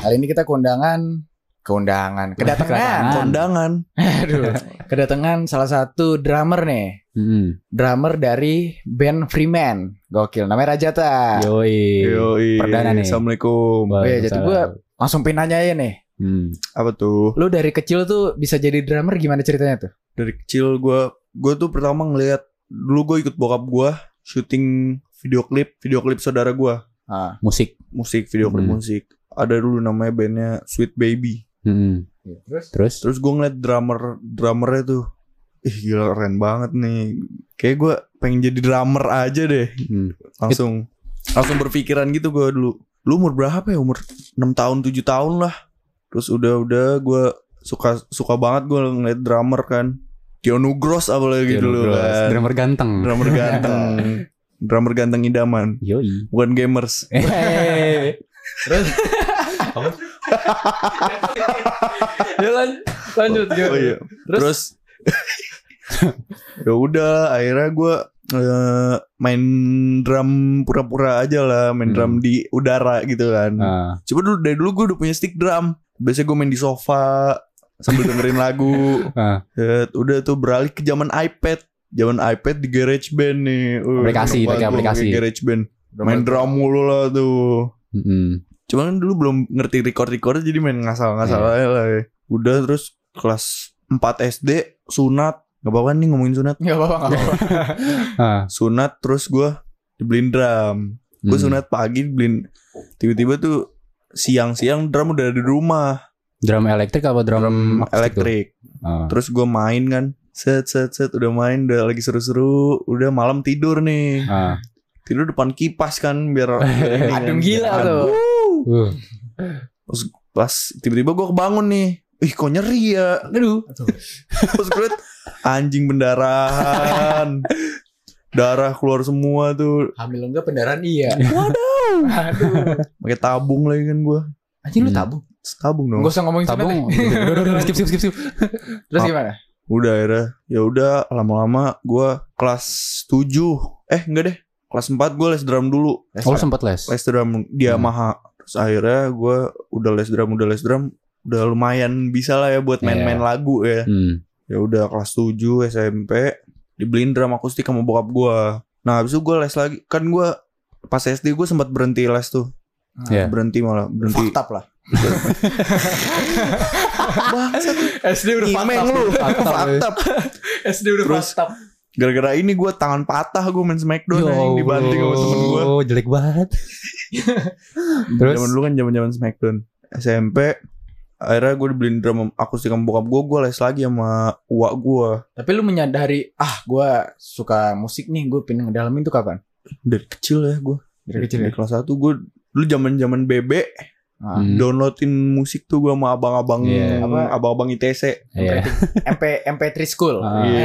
Kali ini kita kedatangan salah satu drummer nih. Drummer dari band Freeman. Gokil, namanya Rajata. Yoi. Perdana nih. Assalamualaikum. Jadi gue langsung pengen nanya aja nih. Apa tuh? Lu dari kecil tuh bisa jadi drummer, gimana ceritanya tuh? Dari kecil gue tuh pertama ngelihat, dulu gue ikut bokap gue syuting video klip saudara gue. Musik Video klip musik. Ada dulu namanya bandnya Sweet Baby. Terus gue ngeliat drummernya tuh, gila keren banget nih. Kayak gue pengen jadi drummer aja deh. Langsung berpikiran gitu gue dulu. Lu umur berapa ya? Umur 6 tahun 7 tahun lah. Terus udah gue suka banget gue ngeliat drummer kan. Tio Nugros apalagi dulu kan. Drummer ganteng. Drummer ganteng idaman. Yoi. Bukan gamers. Terus lanjut. Oh iya. Terus ya udah, akhirnya gue main drum pura-pura aja lah, main drum di udara gitu kan. Coba dari dulu gue udah punya stick drum. Biasanya gue main di sofa sambil dengerin lagu. Udah tuh beralih ke zaman iPad di GarageBand nih. Pakai aplikasi GarageBand. Main drum mulu lah tuh. Cuman dulu belum ngerti record jadi main ngasal-ngasal aja lah ya. Udah, terus kelas 4 SD sunat. Gak apa-apa nih ngomongin sunat. Gak apa-apa. Sunat, terus gue dibeliin drum. Gue sunat pagi, tiba-tiba tuh siang-siang drum udah ada di rumah. Drum elektrik apa drum elektrik? Terus gue main kan, set udah main, udah lagi seru-seru. Udah malam tidur nih. Tidur depan kipas kan biar adem gila tuh. Terus pas tiba-tiba gue kebangun nih. Kok nyeri ya? Aduh. Terus gue liat anjing pendarahan. Darah keluar semua tuh. Hamil enggak pendarahan iya. Waduh. Pakai tabung lagi kan gue. Anjing lu tabung? Tabung dong. Gak usah ngomongin tabung. Udah, skip. Terus gimana? Udah akhirnya. Ya udah, lama-lama gue kelas 7. Enggak deh. Kelas 4 gue les drum dulu. Sempat les? Les drum di Yamaha. Terus akhirnya gue udah les drum. Udah lumayan bisa lah ya buat main-main lagu ya. Ya udah kelas 7 SMP dibeliin drum akustik sama bokap gue. Nah habis itu gue les lagi. Kan gue pas SD gue sempat berhenti les tuh. Berhenti. Faktap lah. Bangsat. SD udah faktap. SD udah faktap. Gara-gara ini gue tangan patah, gue main Smackdown yang dibanting sama temen gue. Jelek banget. Terus zaman dulu kan zaman Smackdown. SMP akhirnya gue dibeliin drum akustik sama bokap gue les lagi sama uak gue. Tapi lu menyadari, gue suka musik nih, gue pengen ngedalamin tuh kapan? Dari kecil ya gue. Dari kelas 1 gue dulu zaman BB. Downloadin musik tuh gue sama abang-abang ITC. MP3 school.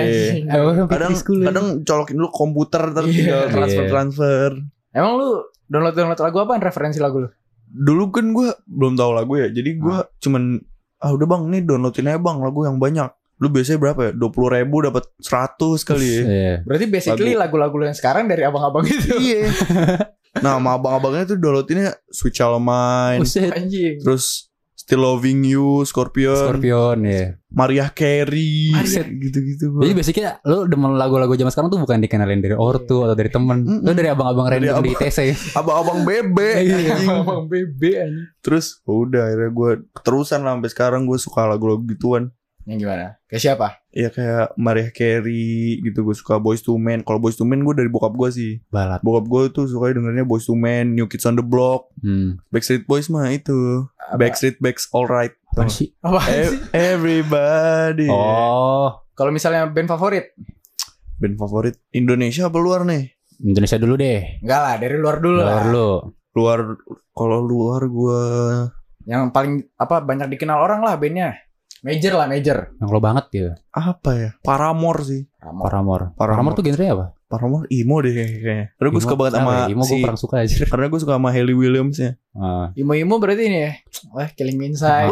Kadang colokin dulu komputer tinggal transfer. Emang lu download lagu apaan, referensi lagu lu? Dulu kan gue belum tahu lagu ya. Jadi gue cuman udah bang, nih downloadin aja bang lagu yang banyak. Lu biasanya berapa ya? 20.000 dapat 100 kali ya. Berarti basically lagu-lagu yang sekarang dari abang-abang itu. Iya. Nah sama abang-abangnya tuh downloadinnya Sweet Child O' Mine. Terus Still Loving You, Scorpion ya. Mariah Carey. Gitu-gitu. Jadi basically lu demen lagu-lagu zaman sekarang tuh bukan dikenalin dari ortu atau dari temen. Lu dari abang-abang random di TC. Abang-abang bebe. Abang bebe anjing. Terus udah akhirnya gue keterusan lah sampai sekarang gue suka lagu-lagu gituan. Yang gimana? Kayak siapa? Ya kayak Mariah Carey gitu. Gue suka Boyz II Men. Kalau Boyz II Men gue dari bokap gue sih. Balat. Bokap gue tuh suka dengernya Boyz II Men, New Kids on the Block. Backstreet Boys mah itu Backstreet Backs Alright. Apa sih? Everybody. Kalau misalnya band favorit? Band favorit Indonesia apa luar nih? Indonesia dulu deh. Enggak lah, dari luar dulu lah. Kalau luar gue yang paling banyak dikenal orang lah bandnya. Major. Yang lo banget gitu. Apa ya? Paramore sih. Paramore tuh genre apa? Paramore emo deh kayaknya. Karena gue suka banget sama emo gue kurang suka aja. Karena gue suka sama Hayley Williams ya. Emo berarti ini ya. Killing Me Inside.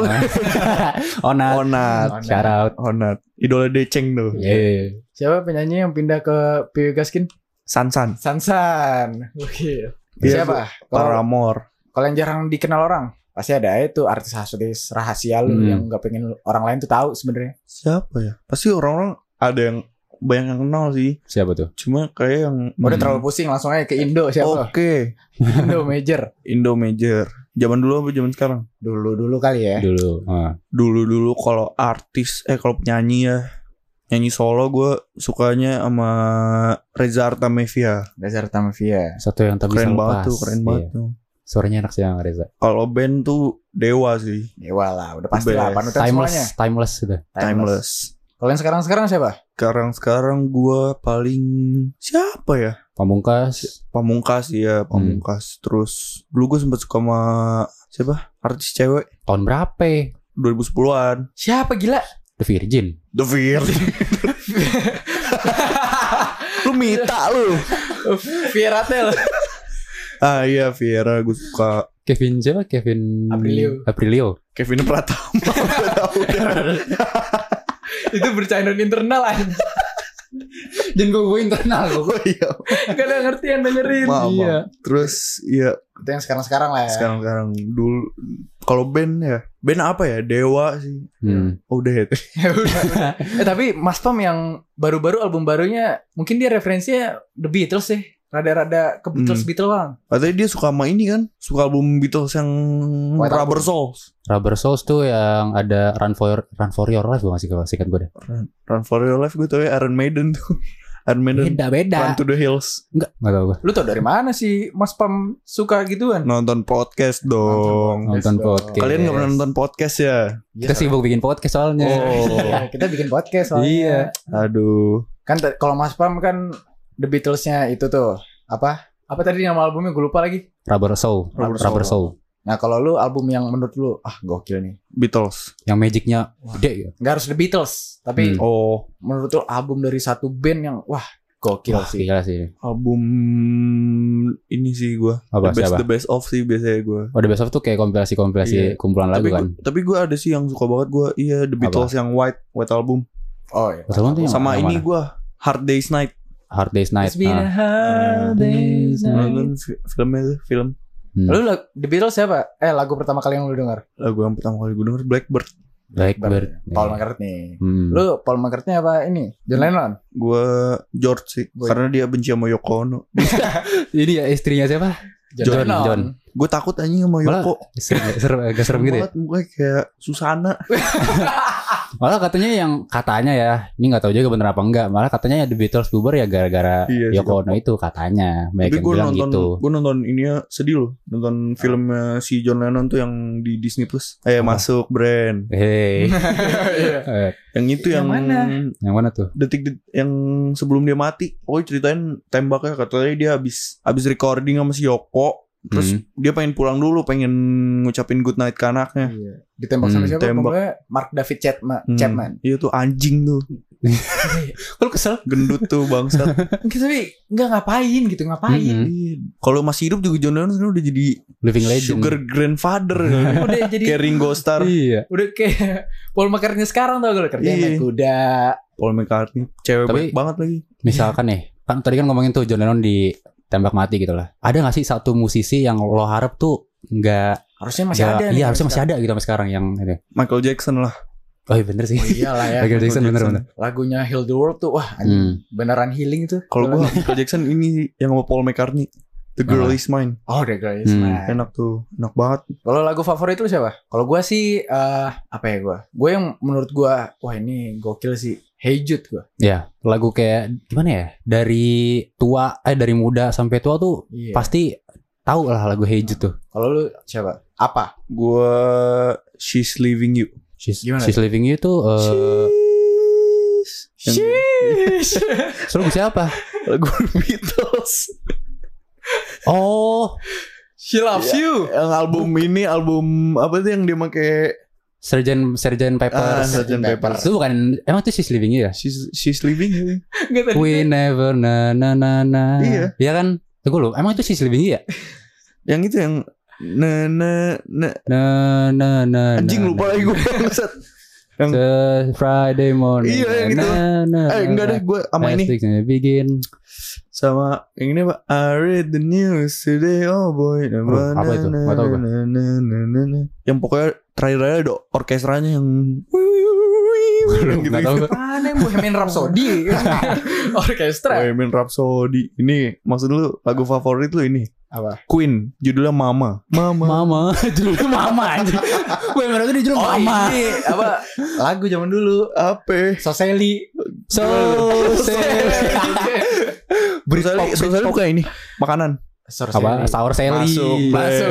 Onat. Shout out. Onat. Idola Deceng tuh. Siapa penyanyi yang pindah ke PW Gaskin? Sansan. Oke. Siapa? Paramore. Kalau yang jarang dikenal orang pasti ada itu artis rahasia lu yang nggak pengen orang lain tuh tahu sebenarnya. Siapa ya? Pasti orang-orang ada yang banyak yang kenal sih. Siapa tuh? Cuma kayak yang udah terlalu pusing, langsung aja ke Indo siapa? Oke. Indo Major. Zaman dulu apa zaman sekarang? Dulu kali ya. Dulu kalau artis kalau penyanyi ya. Nyanyi solo gue sukanya sama Reza Artamevia. Satu yang tak bisa lepas. Keren banget tuh. Suaranya enak sih yang Reza. Kalau band tuh Dewa sih. Dewa lah, udah pasti lah. Panutan semuanya. Timeless sudah. Timeless. Kalau yang sekarang siapa? Sekarang gue paling siapa ya? Pamungkas ya, Pamungkas. Terus dulu gue sempet suka sama siapa? Artis cewek. Tahun berapa? 2010-an. Siapa gila? The Virgin. Lu minta lu. Viera Tel. Iya Viera gue suka. Kevin Aprilio. Kevin Pratama. Itu bercandaan internal aja. Jangan gue internal gue. Iya. Gak ada ngerti yang dengerin. Iya. Terus iya. Itu yang sekarang lah ya. Sekarang dulu. Kalau band ya. Band apa ya? Dewa sih. Udah ya. Tapi Mas Pam yang baru-baru album barunya mungkin dia referensinya The Beatles sih. Rada-rada ke Beatles bang. Katanya dia suka sama ini kan. Suka album Beatles yang Rubber Souls. Rubber Souls tuh yang ada Run for Your Life. Gue ngasih sikat gue deh. Run for Your Life gue tau ya Iron Maiden tuh. Iron Maiden. Beda. Run to the Hills. Enggak tau gue. Lu tau dari mana sih Mas Pam suka gituan? Nonton podcast dong. Nonton podcast. Kalian gak pernah nonton podcast ya? Kita sibuk bikin podcast soalnya. Kita bikin podcast soalnya. Iya. Aduh. Kan kalau Mas Pam kan The Beatles-nya itu tuh apa tadi nama albumnya gue lupa lagi. Rubber Soul. Nah kalau lu album yang menurut lu gokil nih Beatles. Yang magicnya gede ya. Gak harus The Beatles, tapi menurut lu album dari satu band yang gokil sih. Gila sih. Album ini sih gue. The Best of sih biasanya gue. The Best of tuh kayak kompilasi kumpulan lagu kan. Tapi gue ada sih yang suka banget gue. Iya The Beatles yang White Album. Oh iya. Sama ini gue Hard Day's Night. It's been a hard day's night. Film. Lu The Beatles siapa? Lagu pertama kali yang lu denger? Lagu yang pertama kali gue denger Blackbird. Paul McCartney. Lu Paul McCartney apa ini? John Lennon? Gue George sih. Karena dia benci sama Yoko Ono. Ini ya istrinya siapa? John. Gue takut anjing sama Yoko. Agak serem gitu ya. Mukanya kayak Susana. Malah katanya ya, ini nggak tahu juga bener apa enggak. Malah katanya ya The Beatles bubar ya gara-gara Yoko Ono itu katanya. Banyak yang bilang gitu. Gue nonton ini ya sedih loh. Nonton filmnya si John Lennon tuh yang di Disney Plus. Masuk brand. Yang itu yang mana? Yang mana tuh? Detik yang sebelum dia mati. Pokoknya ceritain tembaknya katanya dia habis recording sama si Yoko. Terus dia pengen pulang dulu, pengen ngucapin good night ke anaknya. Ditembak sama siapa? Pokoknya Mark David Chapman. Iya tuh anjing tuh. Kalau kesel gendut tuh bangsat. Tapi nggak ngapain. Kalau masih hidup juga John Lennon udah jadi living legend, sugar grandfather. Udah jadi kayak Ringo Starr. Udah kayak Paul McCartney sekarang tau gak kerja naik kuda. Paul McCartney cewek baik banget lagi. Misalkan nih, kan tadi kan ngomongin tuh John Lennon ditembak mati gitu lah. Ada gak sih satu musisi yang lo harap tuh nggak harusnya masih ada? Iya harusnya masih ada gitu sampai sekarang yang ini. Michael Jackson lah. Oh iya bener sih. Iyalah ya. Michael Jackson bener. Lagunya Heal the World tuh beneran healing itu. Kalau gue Michael Jackson ini yang sama Paul McCartney, The Girl Is Mine. Oh The Girl Is Mine. Enak tuh, enak banget. Kalau lagu favorit lu siapa? Kalau gue sih apa ya gue? Gue yang menurut gue ini gokil sih. Hey Jude gue. Ya, lagu kayak gimana ya? Dari muda sampai tua tuh pasti tahu lah lagu Hey Jude tuh. Kalau lu siapa? Apa? Gue She's Leaving You. She's Leaving You tuh lagu siapa? Lagu Beatles. Oh, She Loves You. Yang album apa tuh yang dia pakai Sgt. Pepper. Sgt. Pepper. Itu bukan, emang itu She's Leaving You ya? She's Leaving You. We never na. Iya. Iya kan? Tunggu lu, emang itu She's Leaving You ya? Yang itu yang na. Anjing lupa lagi gue. Yang Friday morning. Iya yang itu. Enggak deh, gue sama ini. Begin. Sama yang ini Pak, I read the news today, oh boy. Apa itu? Gak tau gue. Yang pokoknya terakhir ada orkestranya yang gitu. Gak tau gue. Mana yang Bohemian Rhapsody? Orkestra. Bohemian Rhapsody. Ini maksud lu lagu favorit lu ini? Apa? Queen, judulnya Mama. Judulnya Mama anjing. Bohemian Rhapsody judulnya Mama. Ini apa? Lagu zaman dulu. Apa? Soseli. Soseli bukan ini makanan. Apa? Sour Sally. Masuk.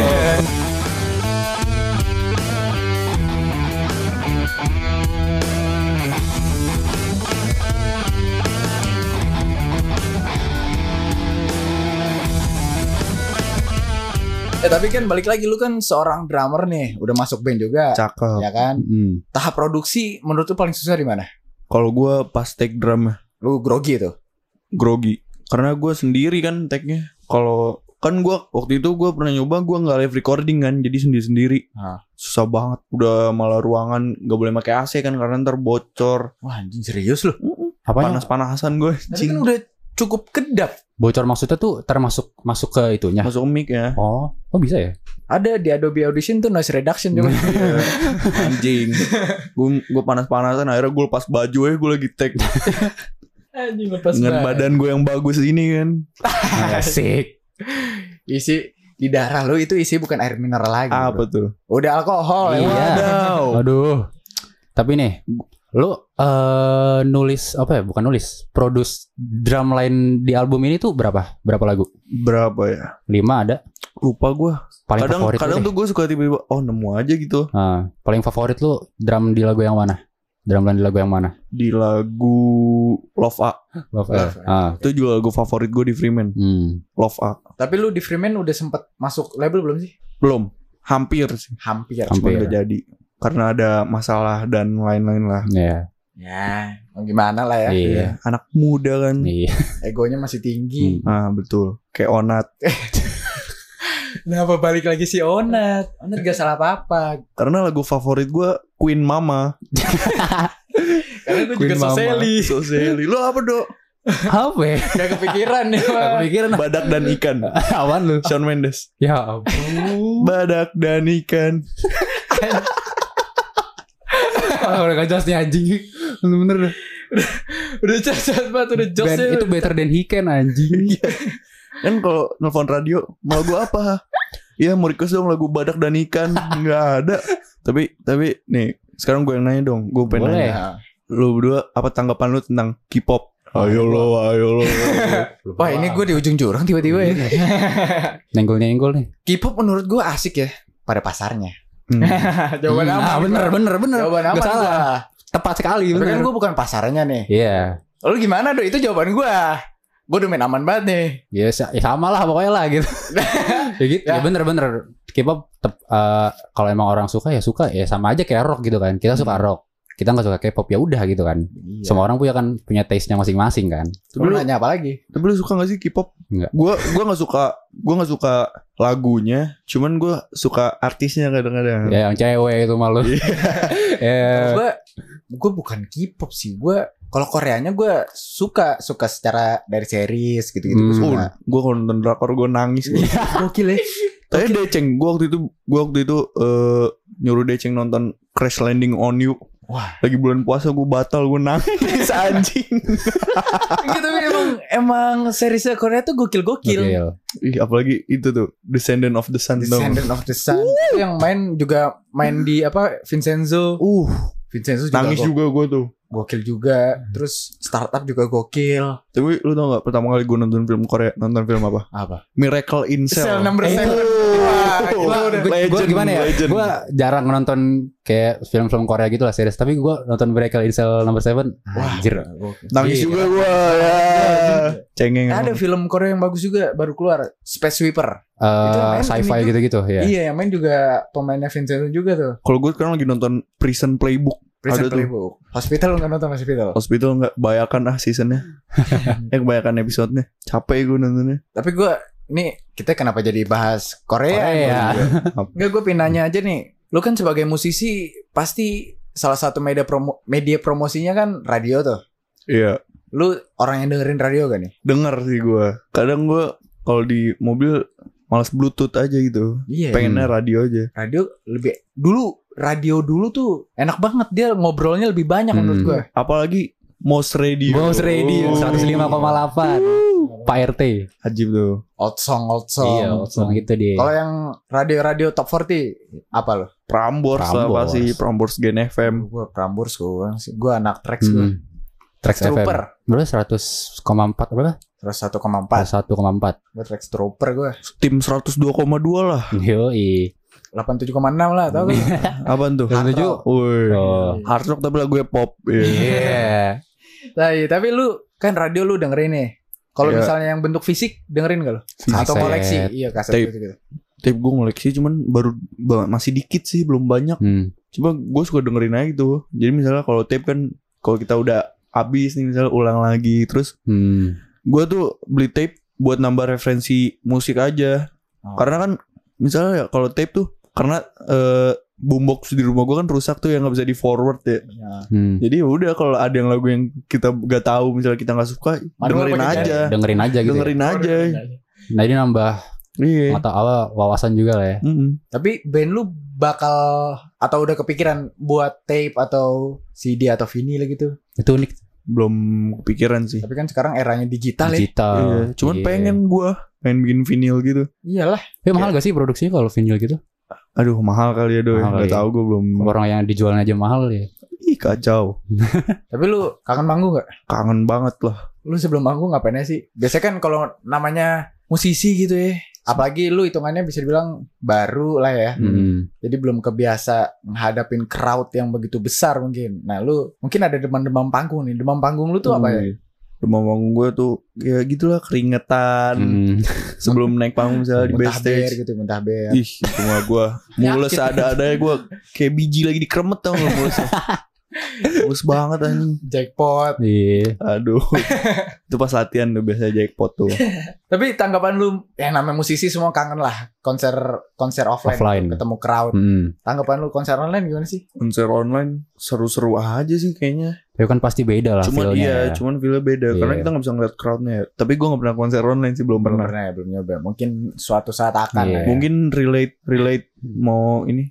Tapi kan balik lagi, lu kan seorang drummer nih, udah masuk band juga. Cakep. Ya kan? Tahap produksi menurut lu paling susah di mana? Kalau gue pas take drum, lu grogi tuh. Grogi. Karena gue sendiri kan take-nya. Kalau kan gue waktu itu gue pernah nyoba, gue nggak live recording kan, jadi sendiri. Susah banget. Udah malah ruangan nggak boleh pakai AC kan karena ntar bocor. Wah anjing, serius lu? Panas-panasan gue. Tapi kan udah cukup kedap. Bocor maksudnya tuh termasuk masuk ke itunya. Masuk mic ya. Oh bisa ya? Ada di Adobe Audition tuh noise reduction juga. Anjing. Gue panas-panasan, akhirnya gue lepas baju gue lagi take. Anjing, lepas dengan badan gue yang bagus ini kan. Asik. Isi di darah lu itu isi bukan air mineral lagi. Apa tuh? Udah alkohol. Iya. Aduh. Tapi nih, lu nulis apa ya? Bukan nulis, produce drum line di album ini tuh berapa? Berapa lagu? Berapa ya? 5 ada. Lupa gue. Paling favorit kadang tuh gue suka tiba-tiba nemu aja gitu. Paling favorit lu drum di lagu yang mana? Drum line di lagu yang mana? Di lagu Love A. Itu juga lagu favorit gue di Freeman. Love A. Tapi lu di Freeman udah sempet masuk label belum sih? Belum. Hampir sih. Hampir. Cuma gak jadi. Karena ada masalah dan lain-lain lah. Iya. Ya, gimana lah ya. Iya. Anak muda kan. Iya. Egonya masih tinggi. Betul. Kayak Onat. Kenapa balik lagi si Onat? Onat gak salah apa-apa. Karena lagu favorit gue Queen Mama. Karena gue juga Soseli. Lu apa dok? Apa ya? Gak kepikiran nih. Badak dan ikan. Awan lu. Shawn Mendes. Ya ampun. Badak dan ikan. Udah gak jelas nih anjing. Bener-bener udah cacat banget. Udah jokesnya itu better than he can anjing. Kan kalau nelfon radio mau lagu apa? Ya mau request dong lagu Badak dan Ikan. Nggak ada. Tapi nih sekarang gue yang nanya dong. Gue pengen nanya, lu berdua apa tanggapan lu tentang K-pop? Ayo lo. Wah ini gue di ujung jurang tiba-tiba ya. Nenggol nih. K-pop menurut gue asik ya pada pasarnya. Jawaban aman. Bener. Jawaban aman. Gak salah. Tepat sekali. Tapi kan gue bukan pasarnya nih. Iya. Lu gimana dong? Itu jawaban gue. Gue udah main aman banget nih. Ya sama lah pokoknya lah gitu. Ya gitu. Ya bener. K-pop kalau emang orang suka ya sama aja kayak rock gitu kan. Kita suka rock. Kita nggak suka K-pop ya udah gitu kan. Iya. Semua orang punya taste-nya masing-masing kan. Lu nanya apa lagi? Tapi lu suka nggak sih K-pop? Enggak. Gue nggak suka lagunya. Cuman gue suka artisnya kadang-kadang. Ya yang cewek itu malu. Gue bukan K-pop sih. Kalau Koreanya gue suka secara dari series gitu-gitu gue suka. Gue kalau nonton drakor gue nangis. Gokil ya. Tapi Deceng, gue waktu itu nyuruh Deceng nonton Crash Landing on You. Wah, lagi bulan puasa gue batal, gue nangis anjing. Gitu, emang seriesnya Korea tuh gokil. Ih, apalagi itu tuh Descendant of the Sun. Descendant of the Sun. Yang main di apa Vincenzo. Vincenzo juga nangis juga gue tuh. Gokil juga. Terus Startup juga gokil. Tapi lu tau gak pertama kali gue nonton film Korea, nonton film apa? Apa? Miracle in Cell. Number 7. Gue gimana ya? Gue jarang nonton kayak film-film Korea gitu lah series. Tapi gue nonton Miracle in Cell Number 7. Anjir. Nangis juga gue ya. Cengeng. Ada film Korea yang bagus juga baru keluar, Space Sweeper. Sci-fi gitu-gitu ya. Iya, yang main juga pemainnya Vincenzo juga tuh. Kalau gue sekarang lagi nonton Prison Playbook. Hospital nggak nonton Hospital nggak, bayakan seasonnya. Kebanyakan episodenya. Capek gue nontonnya. Tapi gue nih, kita kenapa jadi bahas Korea? Ya. Nggak, gue pengen nanya aja nih. Lu kan sebagai musisi pasti salah satu media promosinya kan radio tuh. Iya. Lu orang yang dengerin radio gak nih? Denger sih gue. Kadang gue kalau di mobil malas Bluetooth aja gitu. Iya. Pengennya radio aja. Radio dulu tuh enak banget, dia ngobrolnya lebih banyak menurut gue. Apalagi Mouse Radio. Mouse Radio 105,8. Pak RT. Ajib tuh. Old song. Iya, old song itu dia. Kalau yang radio top 40 apa lo? Prambors lah pasti. Prambors Gen FM. Gue Prambors gue anak Trax gue. Trax Trooper. Berapa 100,4 berapa? 101,4. 1,4. Gue Trax Trooper gue. Tim 102,2 lah. Yoi. 87,6 lah, tau gak? Apaan tuh? 87. Woi. Hard rock tapi lagu pop. Iya. Tapi lu kan radio lu dengerin nih. Kalau misalnya yang bentuk fisik dengerin gak lo? Atau koleksi? Iya, kaset gitu. Tape gue ngoleksi cuman masih dikit sih, belum banyak. Coba gue suka dengerin aja gitu. Jadi misalnya kalau tape kan kalau kita udah habis nih misalnya ulang lagi terus gue tuh beli tape buat nambah referensi musik aja. Karena kan misalnya ya kalau tape tuh karena boombox di rumah gue kan rusak tuh yang nggak bisa di forward ya. Jadi udah kalau ada yang lagu yang kita gak tahu misalnya kita nggak suka dengerin aja gitu. Nah ini nambah mata wawasan juga lah ya. Tapi band lu bakal atau udah kepikiran buat tape atau CD atau vinyl gitu? Itu unik. Belum kepikiran sih. Tapi kan sekarang eranya digital. Iya. Cuman pengen bikin vinyl gitu. Iyalah. Tapi mahal gak sih produksinya kalau vinyl gitu? Aduh mahal kali ya Doi. Gak tau gue belum. Orang yang dijualnya aja mahal ya. Ih kacau. Tapi lu kangen manggung gak? Kangen banget lah. Lu sebelum manggung ngapainnya sih? Biasanya kan kalau namanya musisi gitu ya, apalagi lu hitungannya bisa dibilang baru lah ya. Jadi belum kebiasa menghadapin crowd yang begitu besar mungkin. Nah lu mungkin ada demam panggung nih. Demam panggung lu tuh apa ya? Demam panggung gue tuh ya gitulah, keringetan. Sebelum naik panggung misalnya di backstage gitu, muntah ber. Ih itu mah gue mules ada-adanya gue kayak biji lagi dikeremet tau gak mulesnya. Mulus banget anjing. Jackpot. Iya. Aduh. Itu pas latihan tuh biasanya jackpot tuh. Tapi tanggapan lu, yang namanya musisi semua kangen lah konser offline. Ketemu crowd. Tanggapan lu konser online gimana sih? Konser online seru-seru aja sih kayaknya. Ya kan pasti beda lah cuman feel-nya. Cuman feel-nya beda. Karena kita gak bisa ngeliat crowdnya. Tapi gue gak pernah konser online sih, belum pernah. Belum nyoba. Mungkin suatu saat akan ya. Mungkin relate mau ini.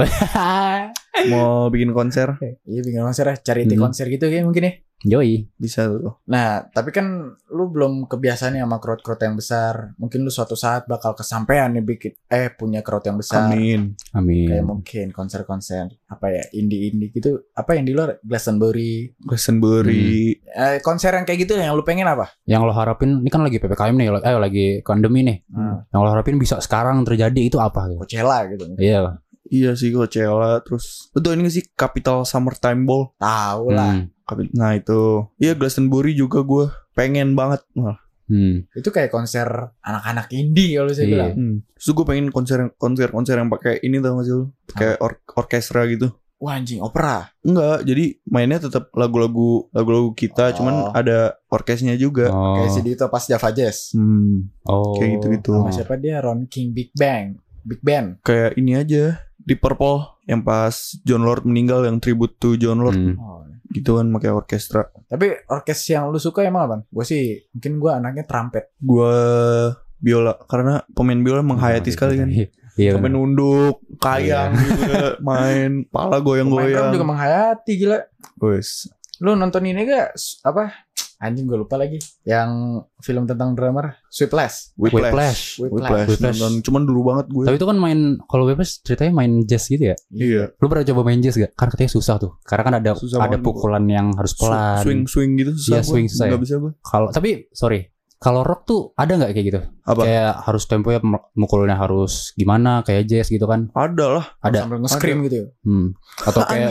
Mau bikin konser. Iya bikin konser ya. Cari konser gitu kayak mungkin ya. Yoi. Bisa tuh. Nah tapi kan lu belum kebiasaan nih sama crowd yang besar. Mungkin lu suatu saat bakal kesampean nih bikin punya crowd yang besar. Amin. Kayak mungkin konser-konser apa ya, indie gitu. Apa yang di luar? Glastonbury. Konser yang kayak gitu yang lu pengen apa? Yang lo harapin, ini kan lagi PPKM nih, lagi pandemi nih. Yang lo harapin bisa sekarang terjadi itu apa gitu? Coachella gitu. Iya sih Coachella. Terus betul ini sih Capital Summertime Ball. Tahu lah. Nah itu. Iya Glastonbury juga gue pengen banget. Itu kayak konser anak-anak indie kalau saya bilang. Terus gue pengen konser yang pakai ini tau gak sih lu? Kayak orkestra gitu. Wah anjing, opera? Enggak, jadi mainnya tetap lagu-lagu kita, cuman ada orkesnya juga. Kayak si Dito pas Java Jazz. Kayak gitu-gitu. Sama siapa dia? Ron King Big Band. Kayak ini aja di Purple yang pas John Lord meninggal, yang tribute to John Lord. Gitu kan pakai orkestra. Tapi orkes yang lu suka emang apa? Gue sih mungkin gue anaknya trumpet. Gue biola, karena pemain biola menghayati sekali kan. Iya. Sampai nunduk, kayang juga, main pala goyang-goyang. Pemain juga menghayati gila. Wes. Lu nonton ini gak apa? Anjing gue lupa lagi. Yang film tentang drummer, Whiplash. Nonton cuman dulu banget gue. Tapi itu kan kalau Whiplash ceritanya main jazz gitu ya? Iya. Lu pernah coba main jazz gak? Karena katanya susah tuh. Karena kan ada pukulan yang harus pelan. Swing gitu susah. Iya, swing susah. Gak bisa gue. Kalau rock tuh ada gak kayak gitu? Apa? Kayak harus temponya mukulnya harus gimana, kayak jazz gitu kan? Ada lah. Ada. Sambil nge-scream gitu ya? Atau kayak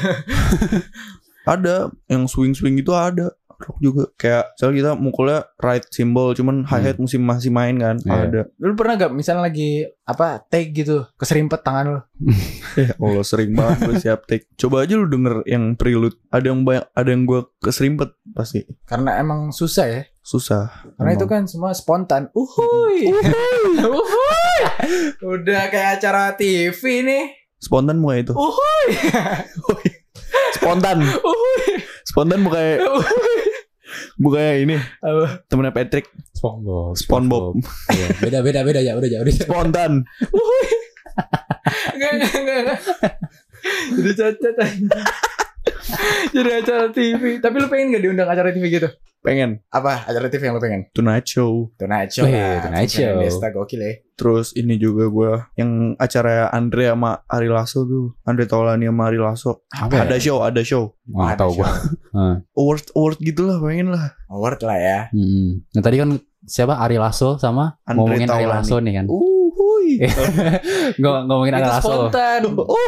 ada yang swing itu ada. Rock juga kayak misalnya kita mukulnya right cymbal cuman hi-hat masih main kan. Ada. Lu pernah gak misalnya lagi take gitu keserimpet tangan lu? Allah sering banget gue siap take. Coba aja lu denger yang prelude. Ada yang gue keserimpet pasti. Karena emang susah ya. Susah. Karena itu kan semua spontan. Uhuy. Udah kayak acara TV nih. Spontan mulai itu. Uhuy. Spontan bukannya ini. Temennya Patrick. SpongeBob. Iya, beda ya, udah. Spontan. Enggak. Jadi cacat aja. Jadi acara TV. Tapi lu pengen gak diundang acara TV gitu? Pengen. Apa acara TV yang lu pengen? Tonight Show. Tonight Show. Desta gokil ya. Terus ini juga gue yang acara Andre sama Ari Lasso tuh. Andre Taulani sama Ari Lasso. Apa ada ya? show. Nggak tahu gue. Award gitu lah, pengen lah. Award lah ya. Nah tadi kan siapa Ari Lasso sama Andre ngomongin Taulani. Ari Lasso nih kan. Uhuy. Ngomongin Ari Lasso. Spontan.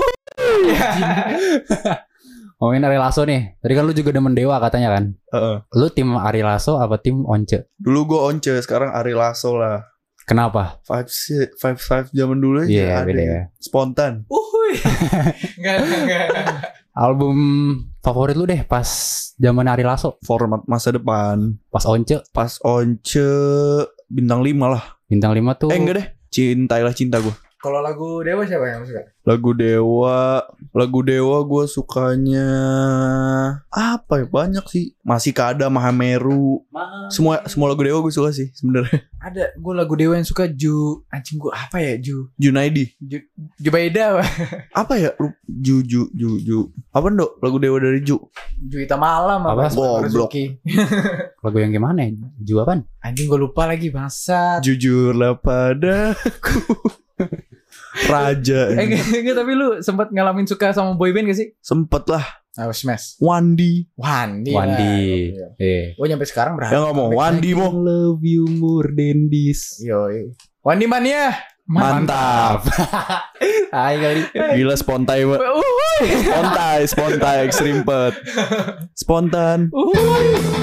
Ngomongin Ari Lasso nih. Tadi kan lu juga demen Dewa katanya kan. Lu tim Ari Lasso apa tim Once? Dulu gue Once, sekarang Ari Lasso lah. Kenapa? Five zaman dulu aja. Iya, beda ya. Spontan. Enggak. Album favorit lu deh pas zaman Ari Lasso. Format masa depan. Pas Once bintang 5 lah. Bintang 5 tuh. Enggak deh. Cintailah cinta gue. Kalau lagu Dewa siapa yang suka? Lagu Dewa gue sukanya apa ya, banyak sih. Masih Kada, Mahameru. Semua lagu Dewa gue suka sih sebenarnya. Ada gue lagu Dewa yang suka anjing gue apa ya Junaidi. Jubaida. Apa ya? Ju. Apa Dok? Lagu Dewa dari Ju Hitam Malam apa? Goblok. Lagu yang gimana ya? Ju apaan? Anjing gue lupa lagi bangsat. Jujurlah padaku. Raja. Enggak, tapi lu sempat ngalamin suka sama boyband gak sih? Sempet lah. Smash. Wandi. Oh nyampe sekarang berapa? Ya ngomong Wandi mo. Love you more than this. Yo. Wandi Mania. Mantap. Hai kali. Gila spontan. Spontan, extreme pet. Spontan.